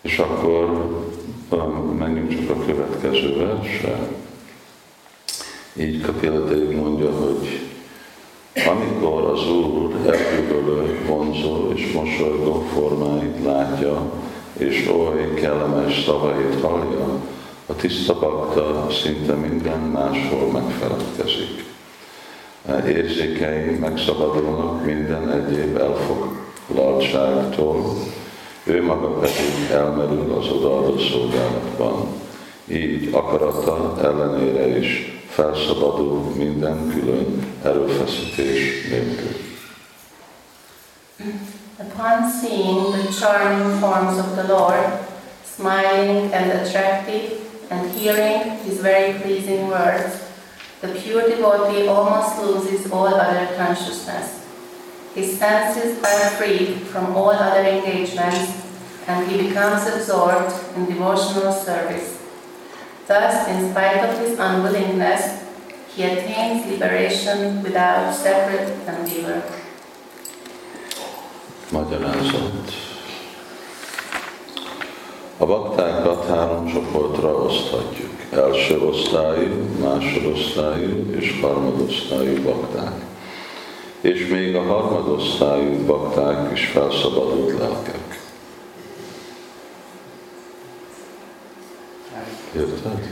És akkor menjünk csak a következő versre. Így Kapila Dev mondja, hogy amikor az Úr elbűvölő, vonzó és mosolygó formáit látja, és oly kellemes szavait hallja, a tiszta bakta szinte minden máshol megfeledkezik. Érzékei megszabadulnak minden egyéb elfoglaltságtól, ő maga pedig elmerül az odaadó szolgálatban. Így akarata ellenére is felszabadul minden külön erőfeszítés nélkül. Upon seeing the charming forms of the Lord, smiling and attractive, and hearing his very pleasing words, the pure devotee almost loses all other consciousness. His senses are freed from all other engagements, and he becomes absorbed in devotional service. Thus, in spite of his unwillingness, he attains liberation without separate endeavor. Magyarázat. A baktákat 3 csoportra oszthatjuk. Első osztályú, másodosztályú és harmadosztályú bakták. És még a harmadosztályú bakták is felszabadult lelkek. Érted?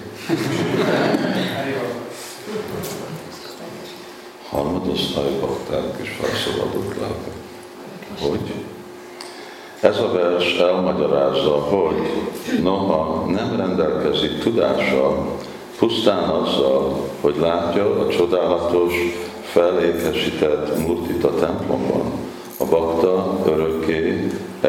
Harmadosztályú bakták is felszabadult lelkek. Hogy? Ez a vers elmagyarázza, hogy noha nem rendelkezik tudással, pusztán azzal, hogy látja a csodálatos, felékesített murtit a templomban, a bakta örökké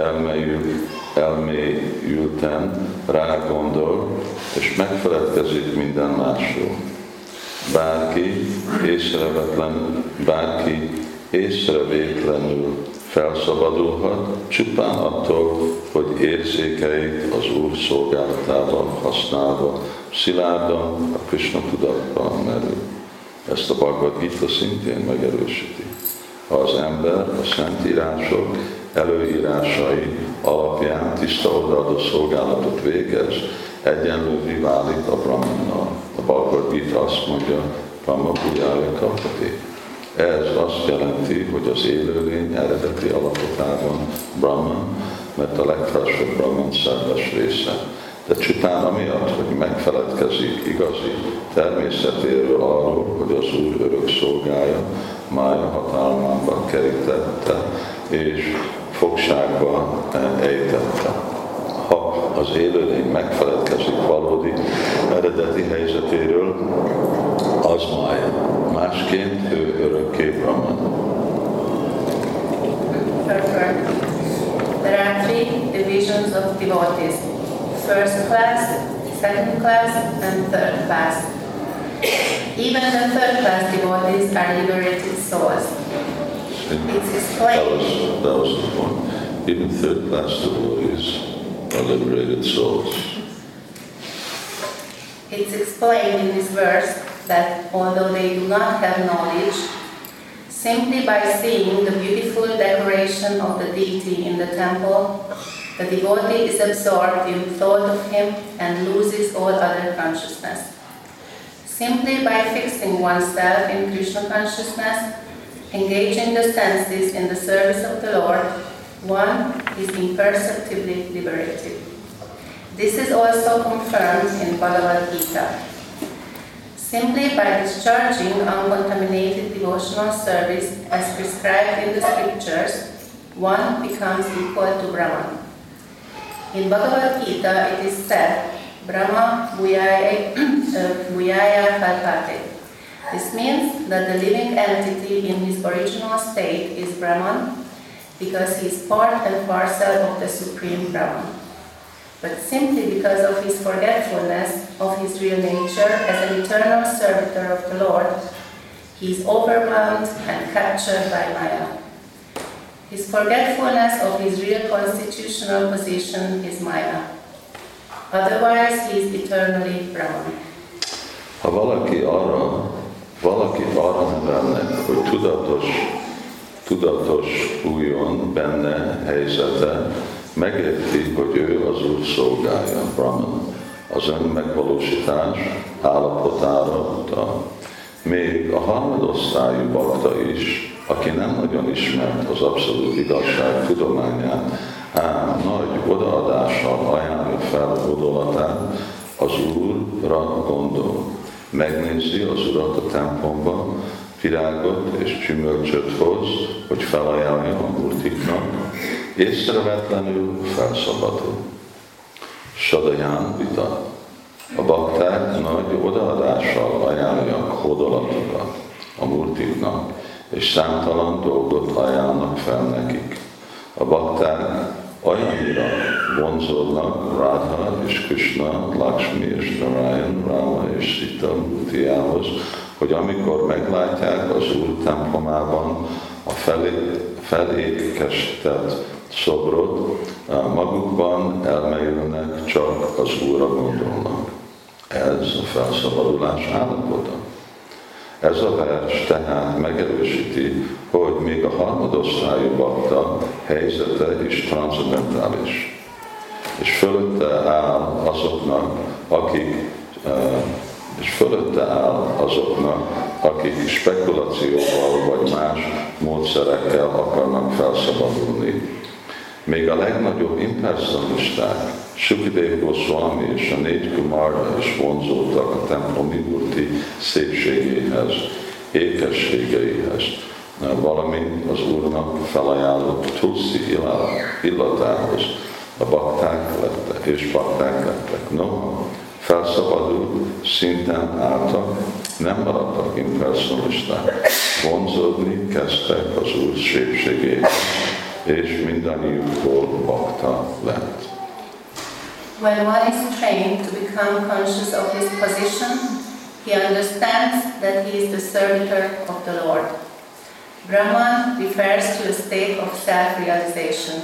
elmélyülten rágondol, és megfeledkezik minden másról. Bárki észrevétlenül felszabadulhat, csupán attól, hogy érzékeit az Úr szolgálatában használva szilárdan a Krishna tudatban merül. Ezt a Bhagavad Gita szintén megerősíti. Ha az ember a szentírások előírásai alapján tiszta odaadó szolgálatot végez, egyenlővé válik a Brahmannal. A Bhagavad Gita azt mondja, Brahma Bhujaya Kapati. Ez azt jelenti, hogy az élőlény eredeti alapotában Brahman, mert a legfelsőbb Brahman szerves része. De csupán amiatt, hogy megfeledkezik igazi természetéről arról, hogy az Úr örök szolgája, mája hatalmába kerítette és fogságba ejtette. Ha az élőlény megfeledkezik valódi eredeti helyzetéről, az mája. Másként ő örökké Brahman. There are 3 divisions of devotees: first class, second class, and third class. Even the third class devotees are liberated souls. It's explained. That was the point. Even third class devotees are liberated souls. It's explained in this verse that although they do not have knowledge, simply by seeing the beautiful decoration of the deity in the temple, the devotee is absorbed in thought of him and loses all other consciousness. Simply by fixing oneself in Krishna consciousness, engaging the senses in the service of the Lord, one is imperceptibly liberated. This is also confirmed in Bhagavad Gita. Simply by discharging uncontaminated devotional service as prescribed in the scriptures, one becomes equal to Brahman. In Bhagavad Gita it is said, Brahma Bhuyaya Kalpate. This means that the living entity in his original state is Brahman, because he is part and parcel of the Supreme Brahman. But simply because of his forgetfulness of his real nature as an eternal servitor of the Lord, he is overwhelmed and captured by Maya. His forgetfulness of his real constitutional position is Maya. Otherwise, he is eternally Brahman. Ha valakit arra nevelnek, hogy tudatos újon benne helyzete, megérti, hogy ő az Úr szolgája, Brahman, az önmegvalósítás állapotára utal. Még a harmadosztályú bakta is, aki nem nagyon ismert az abszolút igazság tudományát, ám nagy odaadással ajánlja fel gondolatát, az Úrra gondol. Megnézi az Urat a templomban, virágot és gyümölcsöt hoz, hogy felajánlja a murtiknak, észrevetlenül felszabadul. Sadaján vita. A bakták nagy odaadással ajánlják hódolatokat a murtiknak, és számtalan dolgot ajánlnak fel nekik. A bakták olyannyira vonzódnak Radha és Krishna, Lakshmi és Narayan, Rama és Sita murtiához, hogy amikor meglátják az Úr templomában a felékesített szobrot, magukban elmélyülnek, csak az Úrra gondolnak. Ez a felszabadulás állapota. Ez a vers tehát megerősíti, hogy még a harmadosztályú bakta helyzete is transzendentális, és fölötte áll azoknak, akik spekulációval vagy más módszerekkel akarnak felszabadulni. Még a legnagyobb impersonalisták, Sukadeva Goswami és a 4 Kumarda is vonzódtak a templomi murti szépségéhez, ékességeihez, valamint az Úrnak felajánlott Tulsi illatához. A bakták lettek, és bakták lettek. Noha felszabadult, szinten álltak, nem maradtak impersonalisták. Vonzódni kezdtek az Úr szépségéhez, és mindannyiukból bakta lett. When one is trained to become conscious of his position, he understands that he is the servitor of the Lord. Brahman refers to a state of self-realization.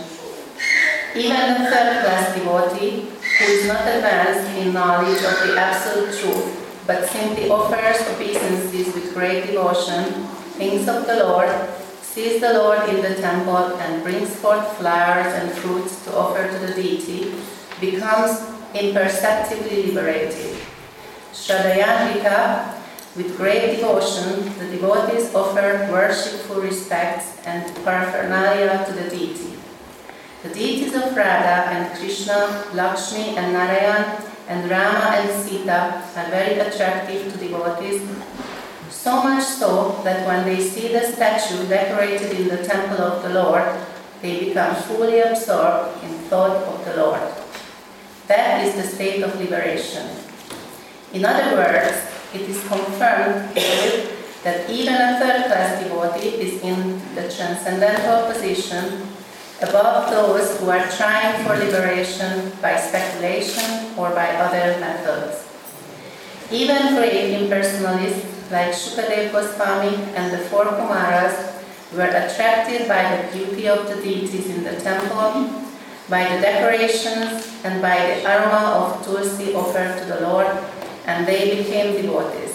Even the third-class devotee, who is not advanced in knowledge of the absolute truth, but simply offers obeisances with great devotion, thinks of the Lord, sees the Lord in the temple and brings forth flowers and fruits to offer to the deity, becomes imperceptibly liberated. Shraddhayanvika, with great devotion, the devotees offer worshipful respects and paraphernalia to the deity. The deities of Radha and Krishna, Lakshmi and Narayan, and Rama and Sita are very attractive to devotees, so much so that when they see the statue decorated in the temple of the Lord, they become fully absorbed in thought of the Lord. That is the state of liberation. In other words, it is confirmed that even a third-class devotee is in the transcendental position above those who are trying for liberation by speculation or by other methods. Even great impersonalists like Sukadeva Goswami and the 4 Kumaras were attracted by the beauty of the deities in the temple, by the decorations and by the aroma of Tulsi offered to the Lord, and they became devotees.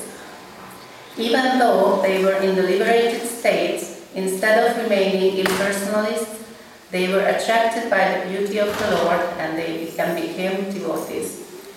Even though they were in the liberated state, instead of remaining impersonalists, they were attracted by the beauty of the Lord and they became devotees.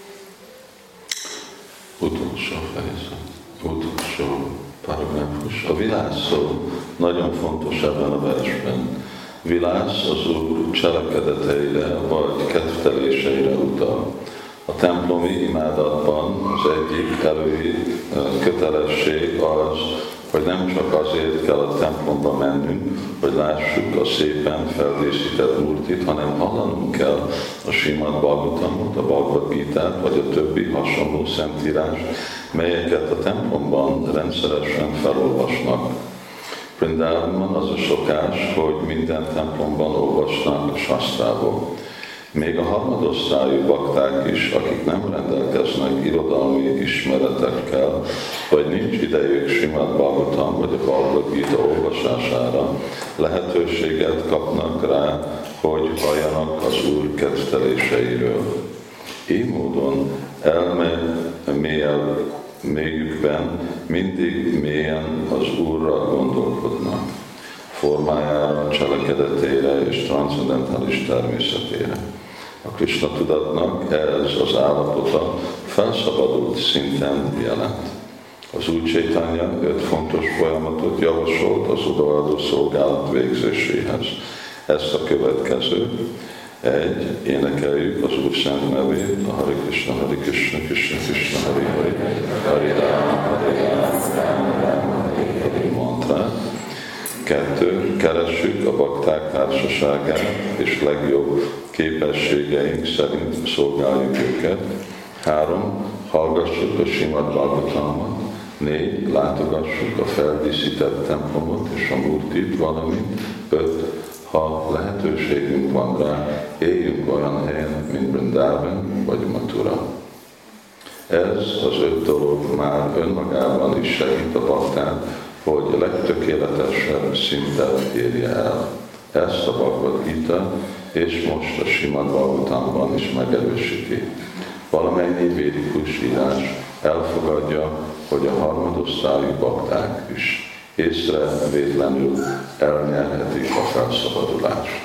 Utolsó fejezet, utolsó paragrafus. A vilász szó nagyon fontos ebben a versben. Vilász az Úr cselekedeteire vagy kedvteléseire utal. A templomi imádatban az egyik kötelesség az, hogy nem csak azért kell a templomba mennünk, hogy lássuk a szépen feldíszített murtit, hanem hallanunk kell a Srimad Bhagavatamot, a Bhagavad Gitát, vagy a többi hasonló szentírást, melyeket a templomban rendszeresen felolvasnak. Vrindávonban az a szokás, hogy minden templomban olvasnak a sasztrából. Még a harmadosztályú bakták is, akik nem rendelkeznek irodalmi ismeretekkel, vagy nincs idejük Srimad Bhagavatam vagy a Bhagavad Gita olvasására, lehetőséget kapnak rá, hogy halljanak az Úr kedvteléseiről. Így módon mélyükben mindig mélyen az Úrra gondolkodnak. formájára, cselekedetére és transzcendentális természetére. A Krishna tudatnak ez az állapota felszabadult szinten jelent. Az új Chaitanya 5 fontos folyamatot javasolt az odaadó szolgálat végzéséhez. Ezt a következő: 1. Énekeljük az Úr szent nevét, a Hare Krishna, Krishna Krishna, Hare Hare, Hare Rama, Rama Rama, Hare mantrát. 2. Keressük a bakták társaságát, és legjobb képességeink szerint szolgáljuk őket. 3. Hallgassuk a Srimad Bhagavatamot. 4. Látogassuk a feldíszített templomot és a Murtit, valamint 5. Ha lehetőségünk van rá, éljünk olyan helyen, mint Vrindavan vagy Mathura. Ez az 5 dolog már önmagában is segít a baktán, hogy legtökéletesebb szintet érje el. Ezt a Bhagavad Gita és most a Srimad Bhagavatamban is megerősíti. Valamennyi védikus írás elfogadja, hogy a harmadosztályú bakták is észrevétlenül elnyerhetik a felszabadulást.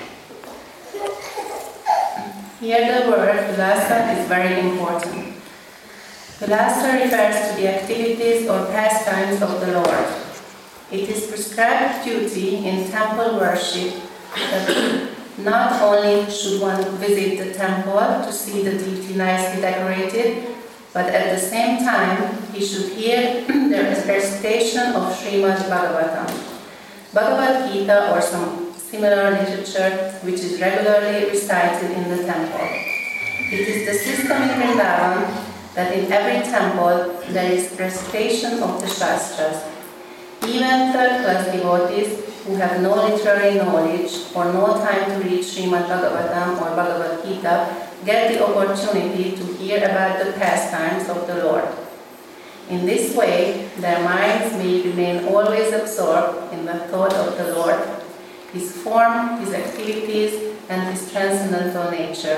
Here the word vilasa is very important. Vilasa refers to the activities or pastimes of the Lord. It is prescribed duty in temple worship that not only should one visit the temple to see the deity nicely decorated, but at the same time he should hear the recitation of Srimad Bhagavatam, Bhagavad Gita or some similar literature which is regularly recited in the temple. It is the system in Vrindavan that in every temple there is recitation of the Shastras. Even third-class devotees who have no literary knowledge or no time to read Srimad Bhagavatam or Bhagavad Gita get the opportunity to hear about the pastimes of the Lord. In this way, their minds may remain always absorbed in the thought of the Lord, His form, His activities, and His transcendental nature.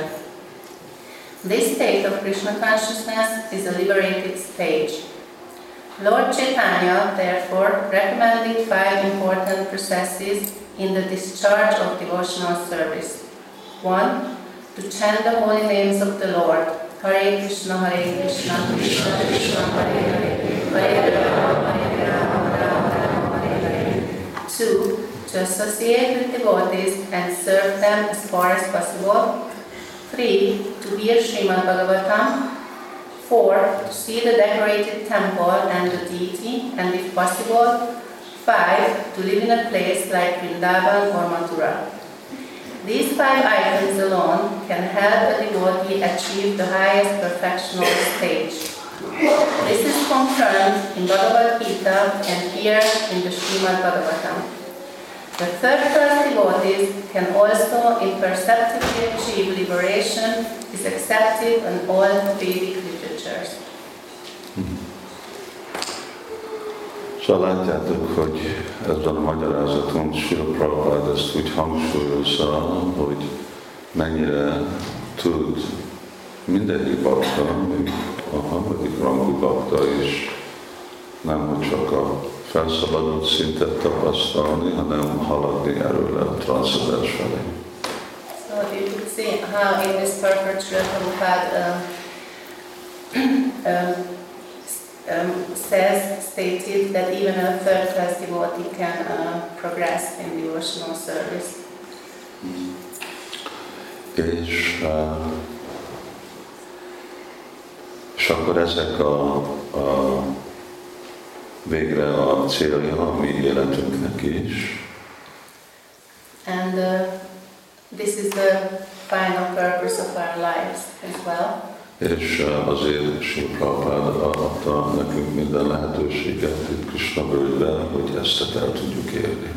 This state of Krishna consciousness is a liberated stage. Lord Chaitanya, therefore, recommended 5 important processes in the discharge of devotional service. 1. To chant the holy names of the Lord. Hare Krishna, Krishna Krishna, Hare Hare, Hare Rama, Rama Rama, Hare Hare. 2. To associate with devotees and serve them as far as possible. 3. To hear Srimad Bhagavatam. 4. To see the decorated temple and the deity, and if possible, 5. To live in a place like Vrindavan or Mathura. These 5 items alone can help a devotee achieve the highest perfectional stage. This is confirmed in Bhagavad Gita and here in the Srimad Bhagavatam. The third-class devotees can also imperceptibly achieve liberation, is accepted in all Vedic literatures. Szóval látjátok, hogy ezzel a magyarázaton Srila Prabhupád ezt úgy hangsúlyozza, hogy mennyire tud mindegyik bakta, még a harmadik rangú bakta is nem hogy csak a felszabadult szintet tapasztalni, hanem haladni erről a transzcendens felé. So you could see how in this purport Srila Prabhupada stated that even a third-class devotee can progress in devotional service. És akkor ezek a végre a célja a mi életünknek is. And this is the final purpose of our lives as well. És azért Srila Prabhupád adta nekünk minden lehetőséget itt Krishna völgyben, hogy ezt el tudjuk érni.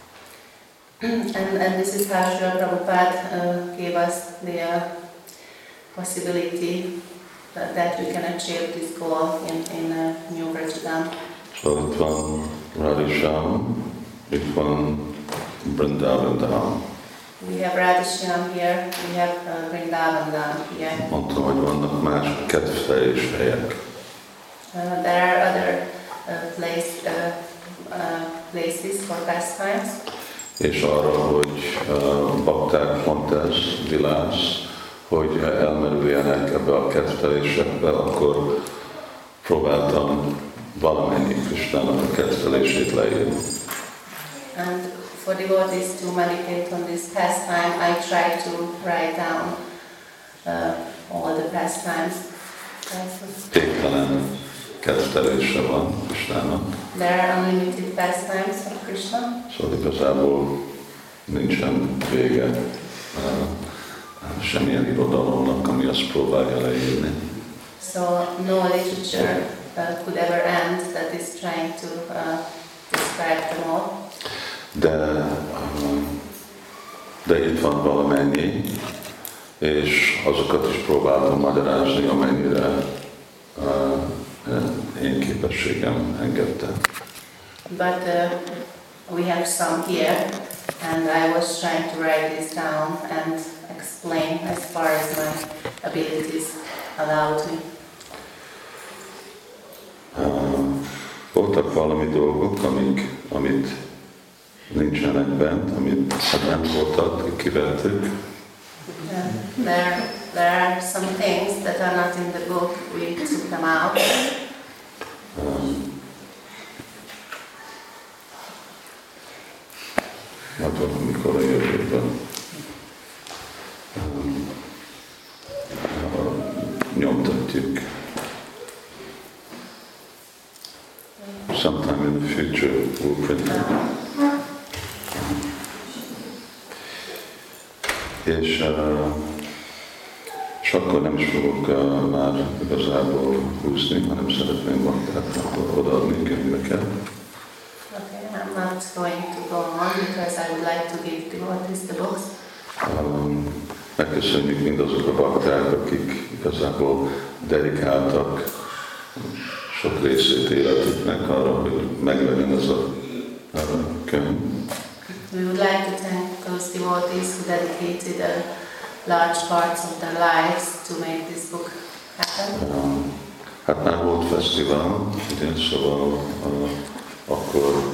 And this is how Srila Prabhupada gave us the possibility that we can achieve this goal in New Vrajadam. Szóval itt van Radhisham, itt van Vrindavan Dham. We have Radhisham here, we have Vrindavan Dham here. Mondtam, hogy vannak más kedvteljes helyek. There are other places for pastimes. és arra, hogy bakták pont ez, vilász, hogy elmerüljenek ebbe a kedvelésekbe, akkor próbáltam valamennyi Krisnának a kedvelését leírni. And for devotees to meditate on this pastime, I try to write down all the pastimes. Végtelen kedvelése van Krisnának. There are unlimited pastimes of Krishna. Szóval igazából nincsen vége semmilyen irodalomnak, ami azt próbálja leírni. So no literature could ever end that is trying to describe them all. De itt van valamennyi, és azokat is próbáltam magyarázni, amennyire én képességem engedte. But we have some here, and I was trying to write this down and explain as far as my abilities allowed me. Voltak valami dolgok, amit nincsenek bent, amit bent voltak, kivettük. There are some things that are not in the book, we took them out. Hát valamikor a jövőben nyomtatjuk. Sometime in the future we'll print it. És akkor nem is fogok már igazából húzni, hanem szeretném baktáknak odaadni könyveket. Okay, I'm not going to go on because I would like to give devotees the books. Megköszönjük mindazok a bakták, akik igazából dedikáltak sok részét életüknek arra, hogy meglegyen ez a könyv. We would like to thank those devotees who dedicated large parts of their lives to make this book happen. Hát már volt fesztivál, ugye, szóval akkor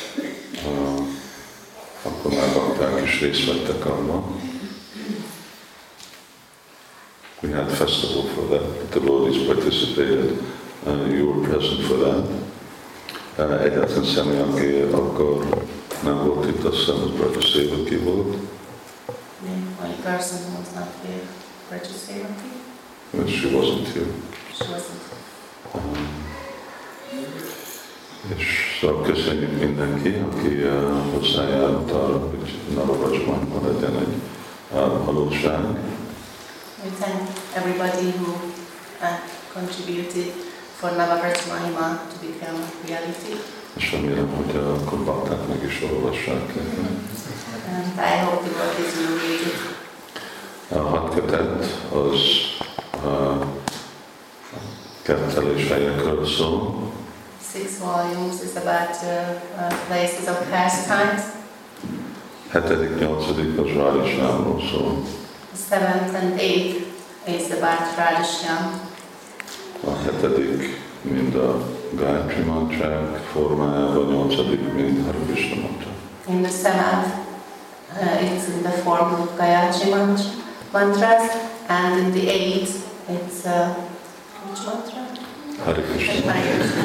már bakták is részt vettek abban. We had a festival for that. The devotees participated. You were present for that. Egyetlen személy, aki akkor nem volt itt, azt hiszem, az Brother Sevaki volt. The only person who was not here, Brother Sevaki. But she wasn't here. She wasn't. És szóval köszönjük mindenki, aki hozzájárult arra, hogy Navavrajman legyen egy valóság. We thank everybody who contributed for Navavraj Mahima to become reality. És remélem, hogy akkor bakták meg is olvassák. And I hope devotees will read it. A 6 kötet az kettelés helyekről szól. 6 volumes is about places of pastimes. 7., 8. az Radhishyamról szól. The 7th and 8th is about Radhishyam. A 7. mind a Gayatri mantrák formájában, 8. mind Hare Krishna mantrák. In the 7th, it's in the form of Gayatri mantras, and in the 8th, it's which mantra? Hare Krishna.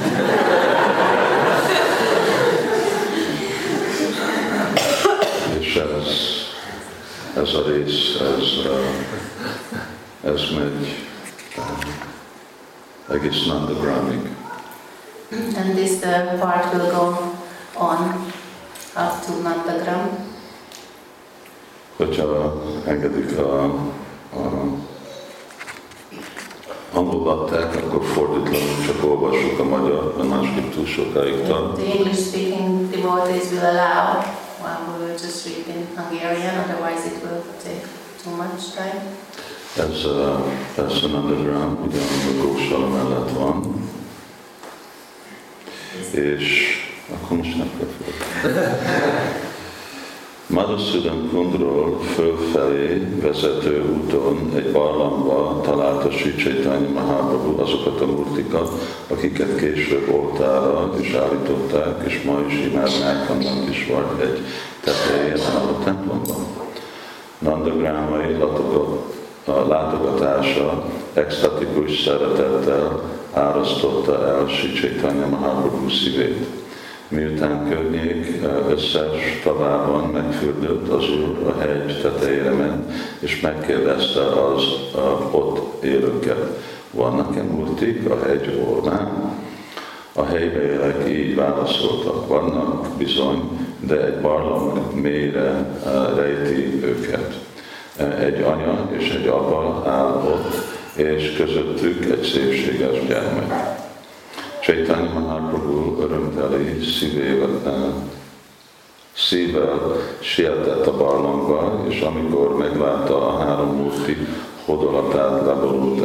És ez a rész, ez megy egész Nandagramig. And this part will go on up to Nandagram. Hogyha engedik a angol bakták, akkor fordítlanul csak olvassuk a magyar, de másképp túl sokáig tart. The English-speaking devotees will allow, we will just read in Hungarian, otherwise it will take too much time. Ez persze Nandagram, ugye a Gósala mellett van, és akkor most nem kell fel. Madhusudan Kundról fölfelé vezető úton egy barlangba találta Sri Chaitanya Mahaprabhu azokat a murtikat, akiket később oltára is állították, és ma is imádnák, annak is volt egy tetején a templomban. Nandagrámai látogatása extatikus szeretettel árasztotta el Sri Chaitanya Mahaprabhu szívét. Miután környék összes tavában megfürdött, az Úr a hegy tetejére ment, és megkérdezte az ott élőket, vannak-e murtik a hegy orrán? A helybeliek így válaszoltak, vannak bizony, de egy barlang mélyre rejti őket. Egy anya és egy apa áll ott, és közöttük egy szépséges gyermek. Chaitanya Mahaprabhu örömteli szívvel sietett a barlangba, és amikor meglátta a három murti hódolattal leborult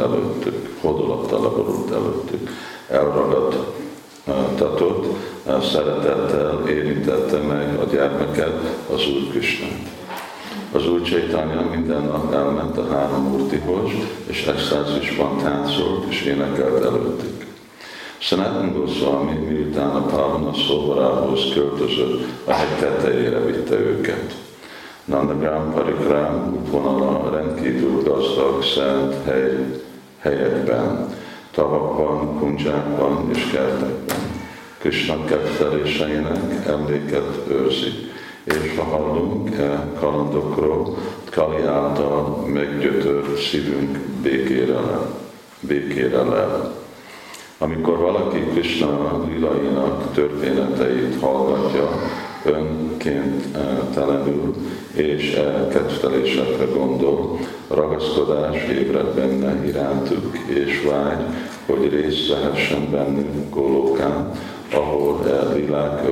előttük, elragadtatott, szeretettel érintette meg a gyermeket, az Úr Krisnát. Az Úr Chaitanya minden nap elment a három murtihoz, és extázisban táncolt és énekelt előttük. Sanatana Goswami, miután a Pavana Szobarához költözött, a hegy tetejére vitte őket. Nandagram Parikrám útvonala rendkívül gazdag szent helyekben, tavakban, kundzsákban és kertekben. Krishna ketteléseinek emléket őrzik, és ha hallunk kalandokról, Kali által meggyötört szívünk békére lel. Amikor valaki Krishna lilainak történeteit hallgatja önkéntelenül és kedvelésekre gondol, ragaszkodás ébred benne irántuk, és vágy, hogy részt vehessen bennünk Gólókán, ahol lilák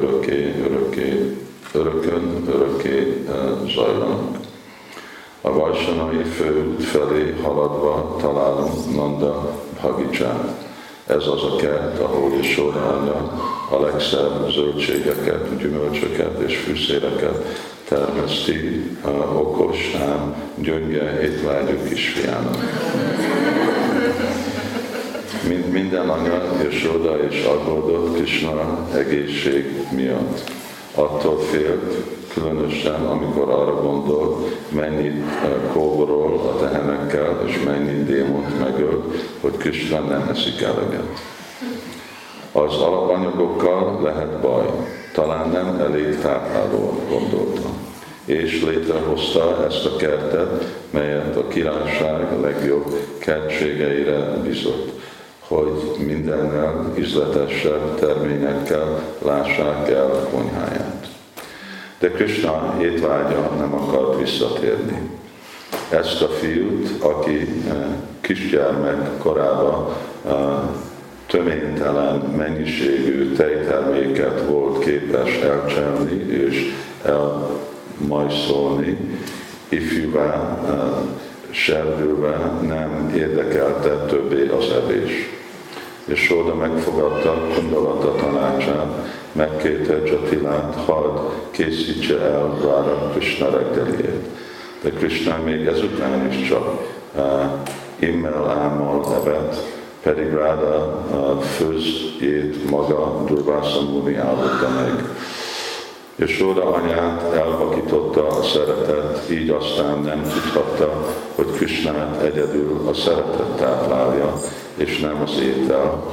örökké zajlanak. A Vajsanai főút felé haladva találunk Nanda Bhagicsát. Ez az a kert, ahol Yashoda anya a legszebb zöldségeket, gyümölcsöket és fűszéreket termeszti okos, ám gyönge étvágyú kisfiának. Minden anya Yashoda és aggódott Krishna egészség miatt. Attól félt, különösen amikor arra gondol, mennyit kóborol a tehenekkel, és mennyit démont megöl, hogy Krishna nem eszik eleget. Az alapanyagokkal lehet baj, talán nem elég táplálóan gondolta. És létrehozta ezt a kertet, melyet a királyság legjobb kertségeire bizott, hogy mindennel ízletesebb terményekkel lássák el konyháját. De Krishna étvágya nem akart visszatérni. Ezt a fiút, aki kisgyermek korában töménytelen mennyiségű tejterméket volt képes elcselni és elmajszolni, ifjúvá, serdülve nem érdekelte többé az evés. És Sóda megfogadta Kundalata tanácsát, megkérte Jatilát, hadd készítse el Rára Krishna reggeliét. De Krishna még ezután is csak immel-ámmal evett, pedig Ráda főzjét maga Durvása Muni áldotta meg. És Sóda anyát elvakította a szeretet, így aztán nem tudhatta, hogy Krishnát egyedül a szeretet táplálja, és nem az étel,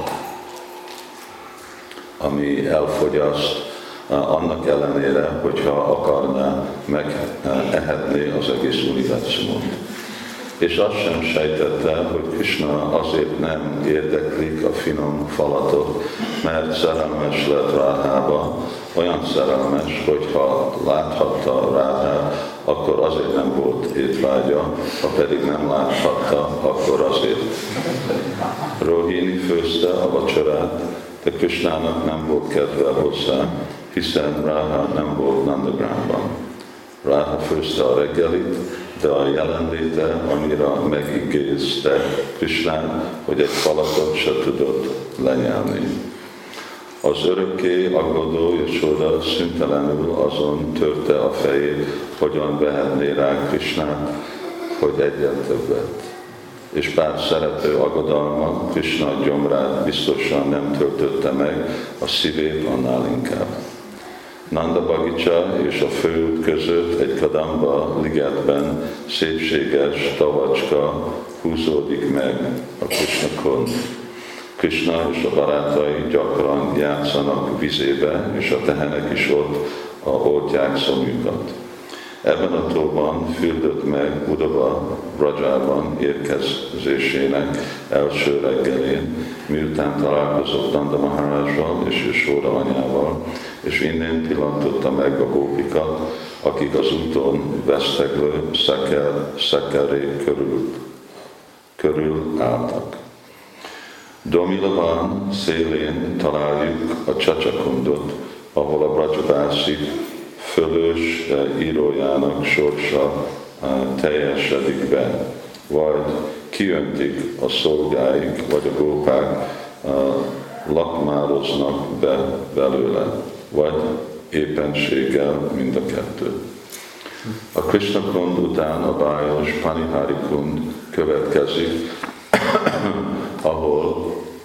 ami elfogyaszt, annak ellenére, hogyha akarná, megehetné az egész univerzumot. És azt sem sejtette, hogy Krishna azért nem érdeklik a finom falatot, mert szerelmes lett Rádhába, olyan szerelmes, hogyha láthatta Rádhát, akkor azért nem volt étvágya, ha pedig nem láthatta, akkor azért. Rohini főzte a vacsorát, de Krishnának nem volt kedve hozzá, hiszen Rádha nem volt Nandagramban. Rádha főzte a reggelit, de a jelenléte annyira megigézte Krishnát, hogy egy falatot se tudott lenyelni. Az örökké aggodó Jashoda szüntelenül azon törte a fejét, hogyan vehetné rá Krisnát, hogy egyen többet. És bár szerető aggodalma Krisna gyomrát biztosan nem töltötte meg, a szívét annál inkább. Nanda Bagicsa és a főút között egy Kadamba ligetben szépséges tavacska húzódik meg a Krisna-kund. Krishna és a barátai gyakran játszanak vizébe, és a tehenek is ott oltják szomjukat. Ebben a tóban fürdött meg Udava Vrajában érkezésének első reggelén, miután találkozott Nanda Maharajjal és Jashoda anyával, és innen pillantotta meg a gópikat, akik az úton veszteglő szekerék körül álltak. Domilavan szélén találjuk a Csacakundot, ahol a Brajabászik fölös írójának sorsa teljesedik be, vagy kiöntik a szolgáik, vagy a gópák lakmároznak be belőle, vagy éppenséggel mind a kettő. A Krishna-kund után a bájos Panihari kund következik, ahol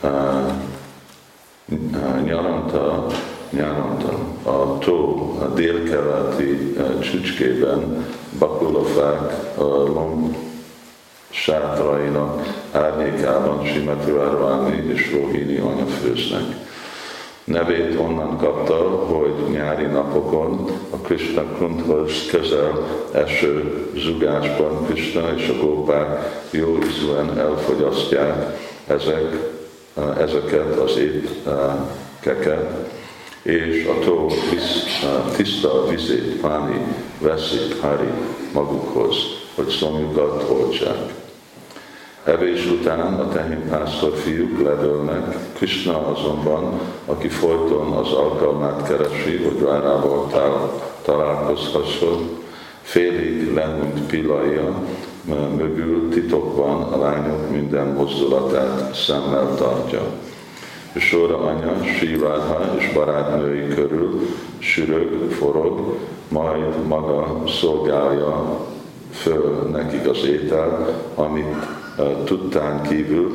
nyaranta a tó a délkeleti csücskében bakulafák lomb sátrainak árnyékában Srimati Radharani és Rohini anya főznek. Nevét onnan kapta, hogy nyári napokon a Krishna-kundhoz közel eső zugásban Krishna és a gópák jó ízűen elfogyasztják ezeket az étkeket, és a tó tiszta vizét, Páni veszik Hari magukhoz, hogy szomjukat oltsák. Evés után a tehénpásztor fiúk ledőlnek, Krishna azonban, aki folyton az alkalmát keresi, hogy Rárával találkozhasson, félig lehunyt pillanja mögül titokban a lányok minden mozdulatát szemmel tartja. Jashoda anya Sri Radha és barátnői körül sürög, forog, majd maga szolgálja föl nekik az ételt, amit tudtán kívül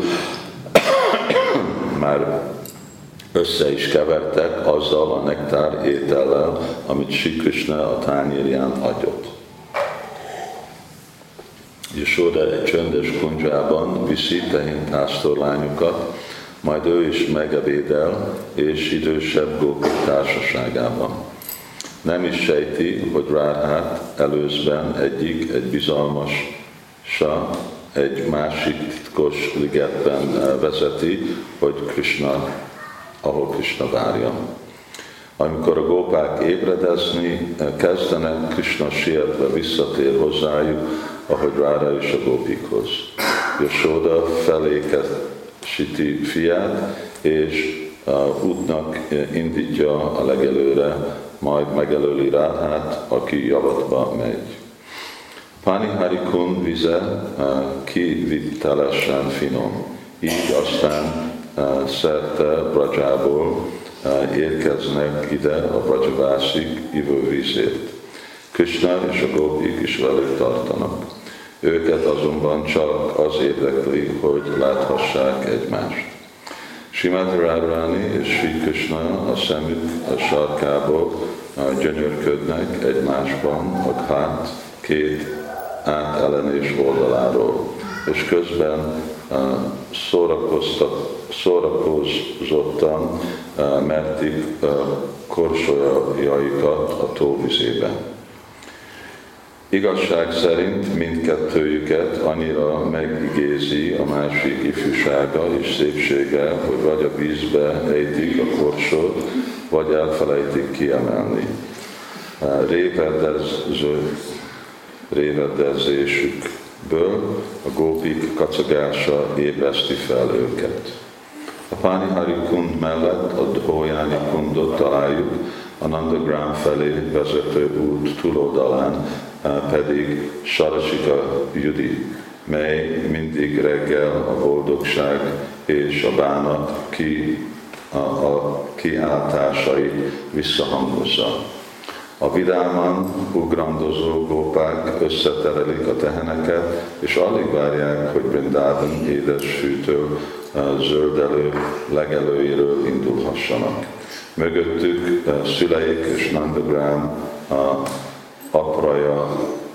már össze is kevertek azzal a nektár étellel, amit Sri Krishna a tányérján adott. Jashoda egy csöndes kundzsában viszi tehénpásztorlányokat, majd ő is megebédel, és idősebb gópik társaságában. Nem is sejti, hogy Rádhát előzben egy bizalmas egy másik titkos ligetben vezeti, hogy ahol Krishna várja. Amikor a gópák ébredezni kezdenek, Krishna sietve visszatér hozzájuk, ahogy Ráda és a gópikhoz. Jashoda felékesíti fiát, és útnak indítja a legelőre, majd megelőli Rádhát, aki javatba megy. Panihari kund vize kivitelesen finom, így aztán szerte Brajából érkeznek ide a Brajabászik ivóvízért. Krishna és a gópik is velük tartanak. Őket azonban csak az érdekli, hogy láthassák egymást. Srimati Radharani és Sri Krishna a szemük a sarkából gyönyörködnek egymásban a Ghát két átellenés oldaláról, és közben szórakozottan mertik korsolyaikat a tóvizében. Igazság szerint mindkettőjüket annyira megigézi a másik ifjúsága és szépsége, hogy vagy a vízbe ejtik a korsót, vagy elfelejtik kiemelni. Révedezésükből a gópik kacagása ébreszti fel őket. A Panihari kund mellett a Dhoyani kundot találjuk, a Nandagram felé vezető út túloldalán pedig Sarasika Judi, mely mindig reggel a boldogság és a bánat a kiáltásait visszahangozza. A vidáman ugrandozó gópák összeterelik a teheneket, és alig várják, hogy Vrindavan édes fűtő, zöldelő legelőiről indulhassanak. Mögöttük szüleik és Nandagram apraja,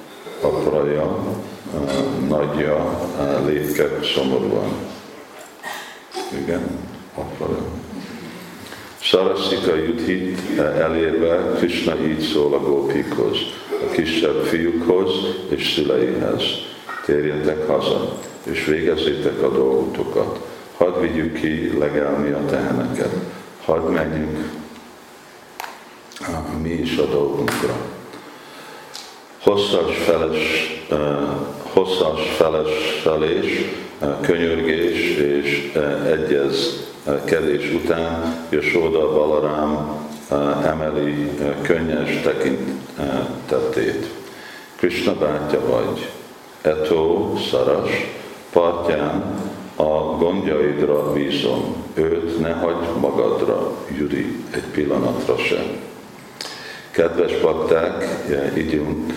nagyja lépked szomorúan. Igen, apraja. Sarasika Yudhit elérve Krishna így szól a gópikhoz, a kisebb fiúkhoz és szüleihez. Térjetek haza, és végezzétek a dolgotokat. Hadd vigyük ki legelni a teheneket. Hadd menjünk mi is a dolgunkra. Hosszas felesfelés, könyörgés és egyezkedés után Jasóda Balarám emeli könnyes tekintetét. Krishna bátyja vagy, Etó Szaras, partján a gondjaidra bízom, őt ne hagyd magadra, Judi, egy pillanatra sem. Kedves bakták, ígyunk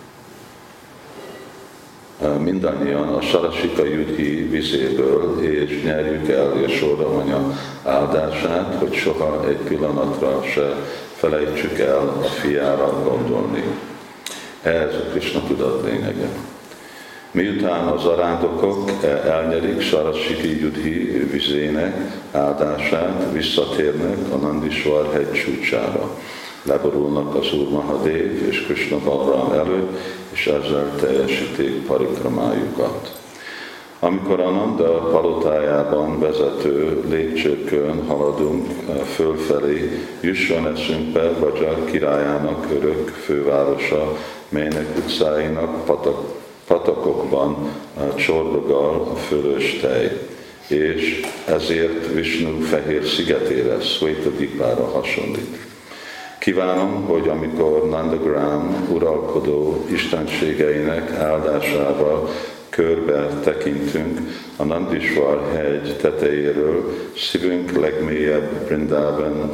mindannyian a Sarasika Yudhi vizéből, és nyerjük el Jasóda anya áldását, hogy soha egy pillanatra se felejtsük el a fiára gondolni. Ez a Krishna tudat lényege. Miután az arándokok elnyerik Sarasika Yudhi vizének áldását, visszatérnek a Nandisvar hegy csúcsára. Leborulnak az Úr Mahadev és Krishna Balaram előtt, és ezzel teljesítik parikramájukat. Amikor a Nanda palotájában vezető lépcsőkön haladunk fölfelé, jusson eszünkbe Vraja királyának örök fővárosa, melynek utcáinak patakokban csordogál a fölös tej, és ezért Vishnu fehér szigetére, Szvétadipára hasonlít. Kívánom, hogy amikor Nandagram uralkodó istenségeinek áldásával körbe tekintünk a Nandisvar hegy tetejéről, szívünk legmélyebb Vrindavan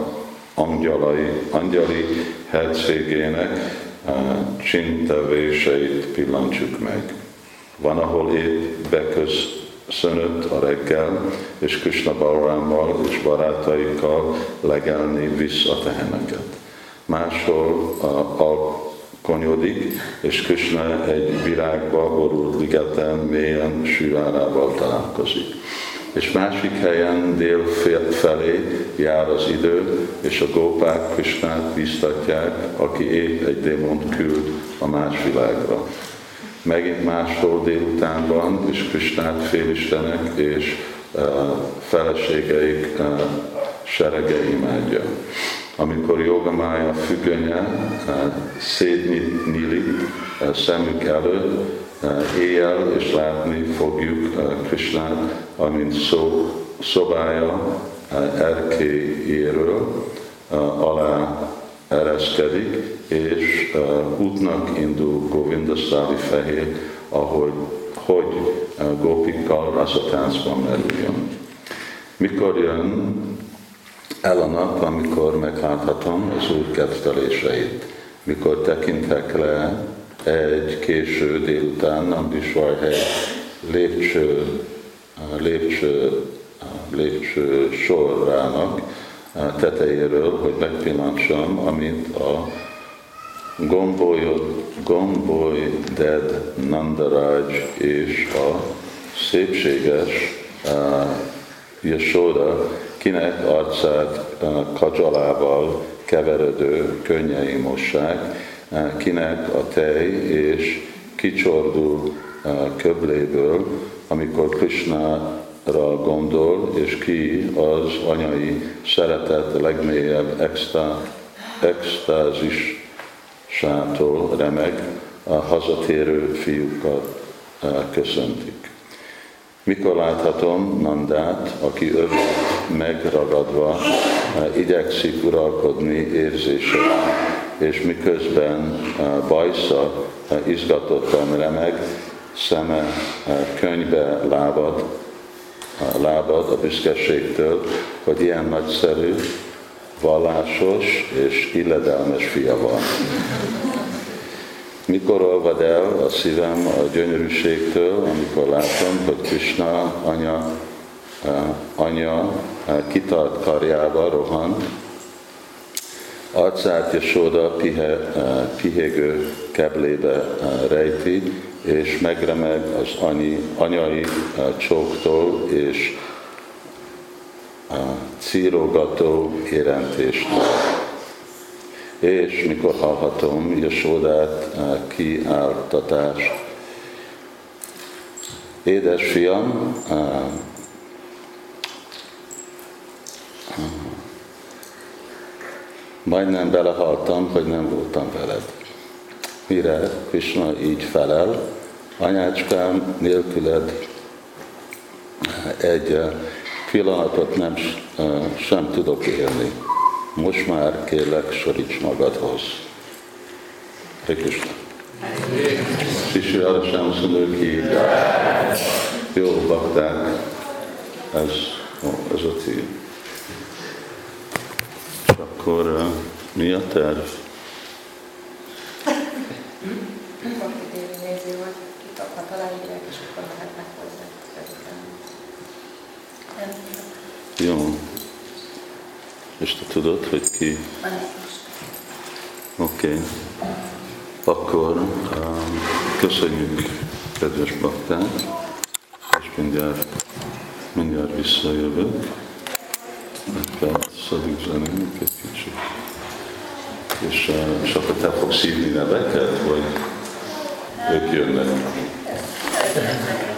angyali hercégének csintevéseit pillantsuk meg. Van, ahol épp beköszönött a reggel, és Krishna Balarámmal és barátaikkal legelni visz a teheneket. Máshol alkonyodik, és Krishna egy virágba borult ligeten mélyen Sivárával találkozik. És másik helyen dél felé jár az idő, és a gópák Krishnát bíztatják, aki épp egy démont küld a más világra. Megint máshol délutánban, és Krishnát félistenek és feleségeik serege imádja. Amikor Jogamája függönye szétnyílik szemük előtt, éjjel, és látni fogjuk Krishnát, amint szobája erkélyéről alá ereszkedik, és útnak indul Govindasztáli fehér, hogy gópikkal rasatáncban merüljön. Mikor jön el a nap, amikor megláthatom az Úr ketteléseit, mikor tekintek le egy késő délután Nandisvar hegy lépcső sorrának tetejéről, hogy megpillantsam, amint a gombolyded Nandaraj és a szépséges Jasóda, kinek arcát kadzsalával keveredő könnyei mossák, kinek a tej és kicsordul köbléből, amikor Krishnára gondol, és ki az anyai szeretet legmélyebb extázisától remeg, a hazatérő fiúkat köszöntik. Mikor láthatom Nandát, aki övét megragadva igyekszik uralkodni érzéseit, és miközben bajsza izgatottan remeg, szeme könyvbe lábad, a lábad a büszkeségtől, hogy ilyen nagyszerű, vallásos és illedelmes fia van. Mikor olvad el a szívem a gyönyörűségtől, amikor látom, hogy Krishna anya kitart karjába rohan, arcát Jasóda pihégő keblébe rejti, és megremeg az anyai csóktól és círogató érintéstől. És mikor hallhatom Jasódát kiáltatást, édes fiam, majdnem belehaltam, hogy nem voltam veled. Mire Krishna így felel, anyácskám, nélküled egy pillanatot sem tudok élni. Most már kérlek, soríts magadhoz. Hare Krishna. Sri Radha Shyam Sundar ki. Jó, bakták, ez a cél. És akkor mi a terv? Bakti Dévi nézi, hogy kitaphat aláírják, és akkor mehetnek hozzá. Jó. És te tudod, hogy ki? Oké. Akkor köszönjük, kedves bakták, és mindjárt visszajövök. Szadik zenélünk egy kicsit. És akkor te fogsz hívni neveket, vagy ők jönnek?